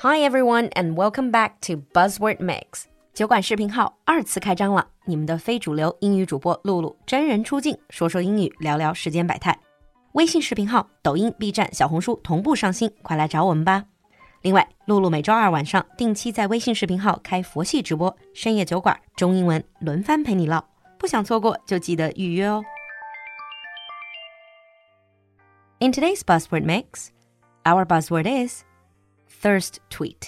Hi everyone and welcome back to Buzzword Mix. 酒馆视频号2次开张了，你们的非主流英语主播露露真人出镜，说说英语，聊聊世间百态。微信视频号、抖音、B 站、小红书同步上新，快来找我们吧。另外，露露每周二晚上定期在微信视频号开佛系直播，深夜酒馆中英文轮番陪你唠，不想错过就记得预约哦。In today's Buzzword Mix, our buzzword is thirst tweet.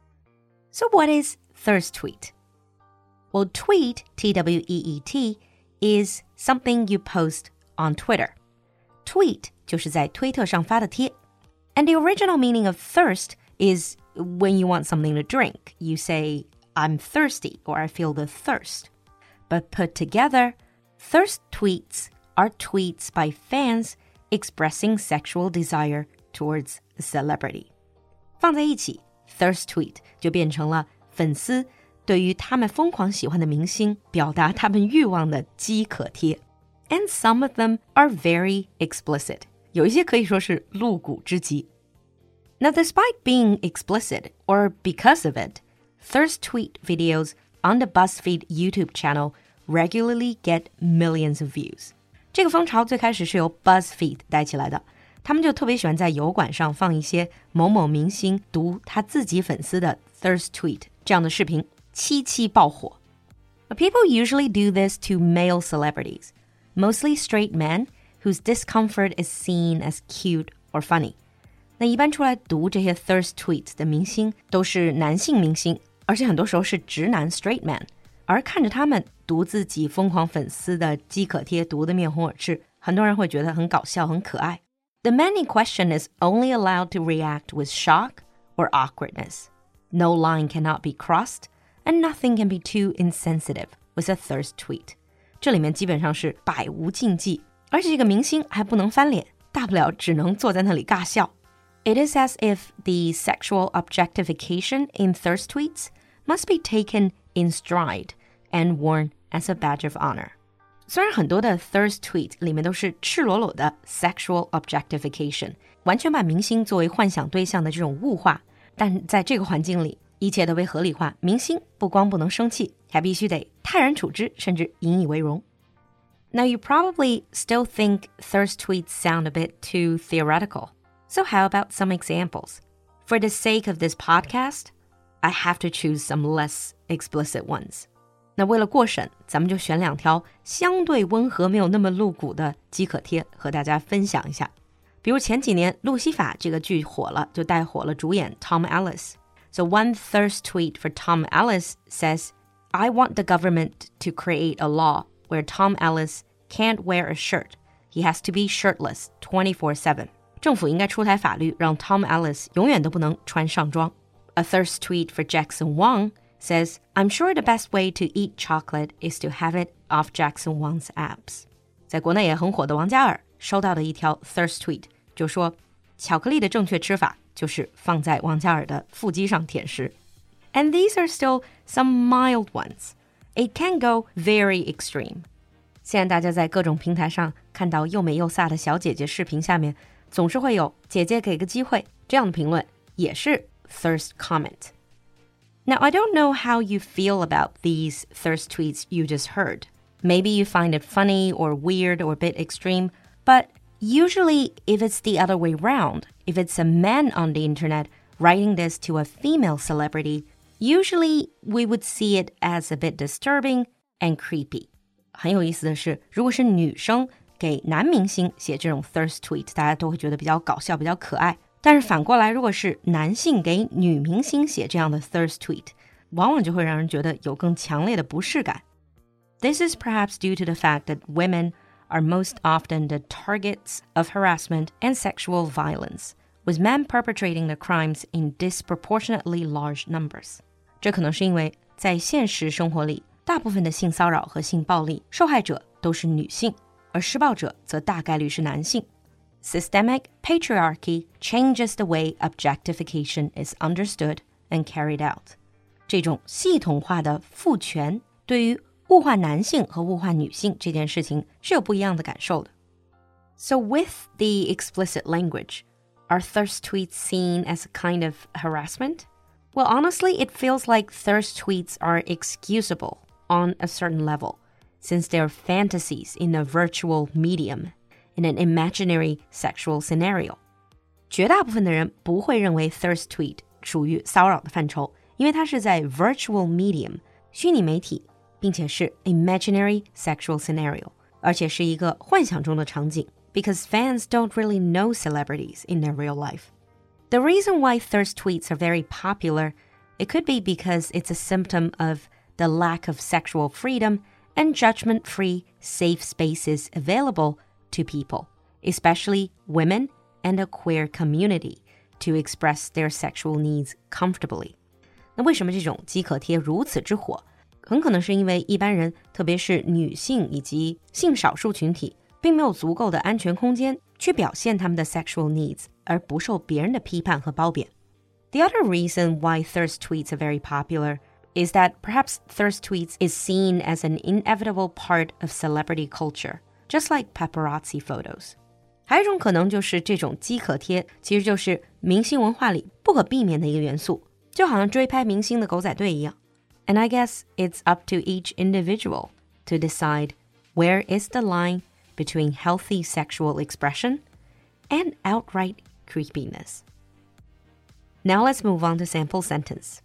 So what is thirst tweet? Well, tweet, T-W-E-E-T, is something you post on Twitter. Tweet 就是在推特上发的贴。And the original meaning of thirst is when you want something to drink. You say, I'm thirsty, or I feel the thirst. But put together, thirst tweets are tweets by fans expressing sexual desire towards a celebrity. 放在一起 thirst tweet 就变成了粉丝对于他们疯狂喜欢的明星表达他们欲望的饥渴贴。And some of them are very explicit. 有一些可以说是露骨之极。Now, despite being explicit, or because of it, thirst tweet videos on the BuzzFeed YouTube channel regularly get millions of views. 这个风潮最开始是由 BuzzFeed 带起来的，他们就特别喜欢在油管上放一些某某明星读他自己粉丝的 thirst tweet 这样的视频，七七爆火。People usually do this to male celebrities, mostly straight men whose discomfort is seen as cute or funny. 那一般出来读这些 thirst tweets 的明星都是男性明星，而且很多时候是直男 straight man， 而看着他们读自己疯狂粉丝的饥渴贴读得面红耳赤，很多人会觉得很搞笑很可爱。The man in question is only allowed to react with shock or awkwardness. No line cannot be crossed, and nothing can be too insensitive with a thirst tweet. 这里面基本上是百无禁忌，而且这个明星还不能翻脸，大不了只能坐在那里尬笑。It is as if the sexual objectification in thirst tweets must be taken in stride and worn as a badge of honor. 虽然很多的 thirst tweet 里面都是赤裸裸的 sexual objectification， 完全把明星作为幻想对象的这种物化，但在这个环境里，一切都被合理化，明星不光不能生气，还必须得泰然处之，甚至引以为荣。Now you probably still think thirst tweets sound a bit too theoretical. So how about some examples? For the sake of this podcast, I have to choose some less explicit ones. 那为了过审，咱们就选两条相对温和没有那么露骨的饥渴贴和大家分享一下。比如前几年路西法这个剧火了，就带火了主演 Tom Ellis. So one thirst tweet for Tom Ellis says, I want the government to create a law where Tom Ellis can't wear a shirt. He has to be shirtless 24/7. 政府应该出台法律，让 Tom Ellis 永远都不能穿上装。A thirst tweet for Jackson Wang says, I'm sure the best way to eat chocolate is to have it off Jackson Wang's abs. 在国内也很火的王嘉尔收到的一条 thirst tweet 就说，巧克力的正确吃法就是放在王嘉尔的腹肌上舔食。And these are still some mild ones. It can go very extreme. 现在大家在各种平台上看到又美又飒的小姐姐视频下面，总是会有姐姐给个机会这样的评论，也是 thirst comment. Now, I don't know how you feel about these thirst tweets you just heard. Maybe you find it funny or weird or a bit extreme, but usually if it's the other way around, if it's a man on the internet writing this to a female celebrity, usually we would see it as a bit disturbing and creepy. 很有意思的是，如果是女生给男明星写这种 thirst tweet， 大家都会觉得比较搞笑，比较可爱。但是反过来，如果是男性给女明星写这样的 thirst tweet， 往往就会让人觉得有更强烈的不适感。This is perhaps due to the fact that women are most often the targets of harassment and sexual violence, with men perpetrating the crimes in disproportionately large numbers. 这可能是因为在现实生活里，大部分的性骚扰和性暴力受害者都是女性，而施暴者则大概率是男性。Systemic patriarchy changes the way objectification is understood and carried out. 这种系统化的父权对于物化男性和物化女性这件事情是有不一样的感受的。So with the explicit language, are thirst tweets seen as a kind of harassment? Well, honestly, it feels like thirst tweets are excusable on a certain level, since they're fantasies in a virtual medium, in an imaginary sexual scenario. 绝大部分的人不会认为 thirst tweet 属于骚扰的范畴，因为它是在 virtual medium 虚拟媒体，并且是 imaginary sexual scenario， 而且是一个幻想中的场景 because fans don't really know celebrities in their real life. The reason why thirst tweets are very popular, it could be because it's a symptom of the lack of sexual freedom and judgment-free safe spaces available to people, especially women and a queer community, to express their sexual needs comfortably. 那为什么这种即可贴如此之火？很可能是因为一般人，特别是女性以及性少数群体，并没有足够的安全空间去表现他们的 sexual needs， 而不受别人的批判和褒贬。The other reason why thirst tweets are very popular is that perhaps thirst tweets is seen as an inevitable part of celebrity culture, just like paparazzi photos. 还有一种可能就是这种即可贴其实就是明星文化里不可避免的一个元素，就好像追拍明星的狗仔队一样。And I guess it's up to each individual to decide where is the line between healthy sexual expression and outright creepiness. Now let's move on to sample sentence.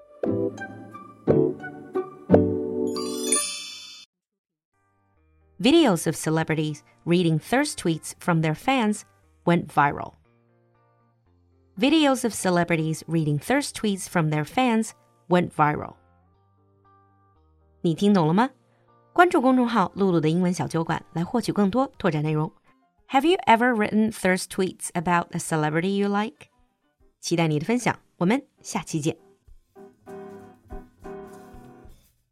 Videos of celebrities reading thirst tweets from their fans went viral. Videos of celebrities reading thirst tweets from their fans went viral. 你听懂了吗？关注公众号露露的英文小酒馆来获取更多拓展内容。Have you ever written thirst tweets about a celebrity you like? 期待你的分享，我们下期见。